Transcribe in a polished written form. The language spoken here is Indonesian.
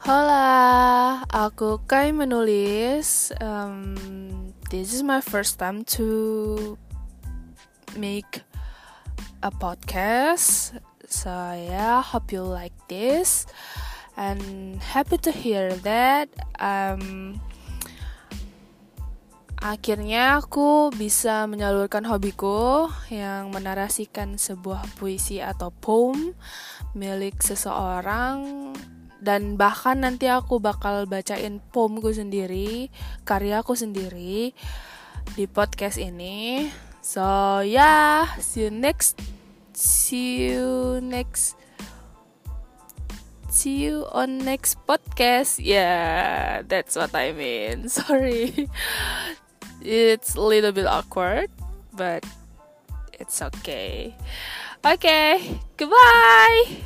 Hola, aku Kai menulis. This is my first time to make a podcast. So yeah, hope you like this and happy to hear that. Akhirnya aku bisa menyalurkan hobiku yang menarasikan sebuah puisi atau poem milik seseorang. Dan bahkan nanti aku bakal bacain poemku sendiri, karyaku sendiri di podcast ini. So yeah, see you on next podcast. Yeah, that's what I mean. Sorry. It's a little bit awkward, but it's okay. Okay, goodbye.